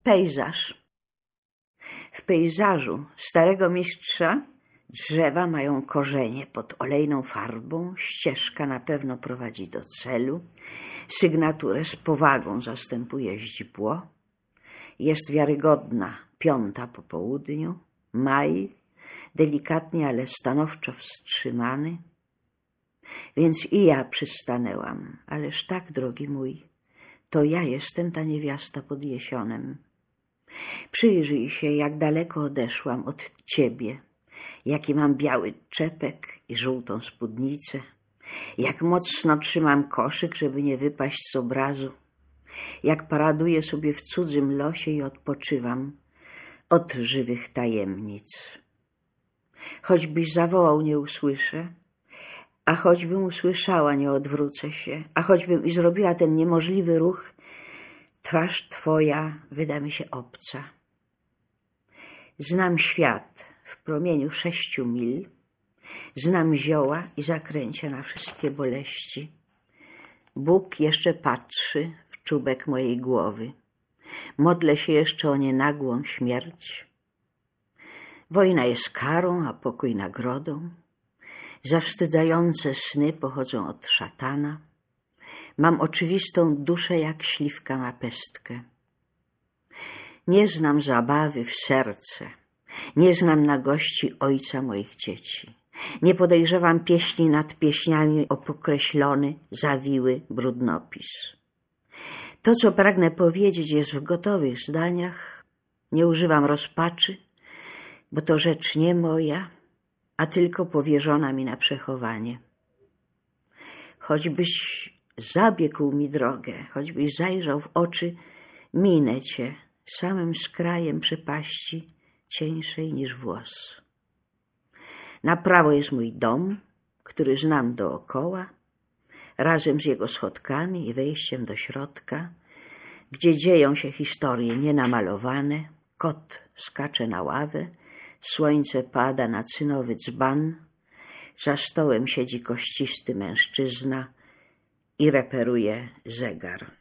Pejzaż. W pejzażu starego mistrza drzewa mają korzenie pod olejną farbą, ścieżka na pewno prowadzi do celu, sygnaturę z powagą zastępuje źdźbło, jest wiarygodna 5 po południu, maj, delikatnie, ale stanowczo wstrzymany. Więc i ja przystanęłam, ależ tak, drogi mój, to ja jestem ta niewiasta pod jesionem. Przyjrzyj się, jak daleko odeszłam od ciebie, jaki mam biały czepek i żółtą spódnicę, jak mocno trzymam koszyk, żeby nie wypaść z obrazu, jak paraduję sobie w cudzym losie i odpoczywam od żywych tajemnic. Choćbyś zawołał, nie usłyszę, a choćbym usłyszała, nie odwrócę się, a choćbym i zrobiła ten niemożliwy ruch, twarz twoja wyda mi się obca. Znam świat w promieniu 6 mil, znam zioła i zakręcia na wszystkie boleści. Bóg jeszcze patrzy w czubek mojej głowy. Modlę się jeszcze o nienagłą śmierć. Wojna jest karą, a pokój nagrodą. Zawstydzające sny pochodzą od szatana. Mam oczywistą duszę jak śliwka ma pestkę. Nie znam zabawy w serce. Nie znam nagości ojca moich dzieci. Nie podejrzewam pieśni nad pieśniami o pokreślony, zawiły brudnopis. To, co pragnę powiedzieć, jest w gotowych zdaniach. Nie używam rozpaczy, bo to rzecz nie moja, a tylko powierzona mi na przechowanie. Choćbyś zabiegł mi drogę, choćbyś zajrzał w oczy, minę cię samym skrajem przepaści, cieńszej niż włos. Na prawo jest mój dom, który znam dookoła, razem z jego schodkami i wejściem do środka, gdzie dzieją się historie nienamalowane, kot skacze na ławę, słońce pada na cynowy dzban, za stołem siedzi kościsty mężczyzna i reperuje zegar.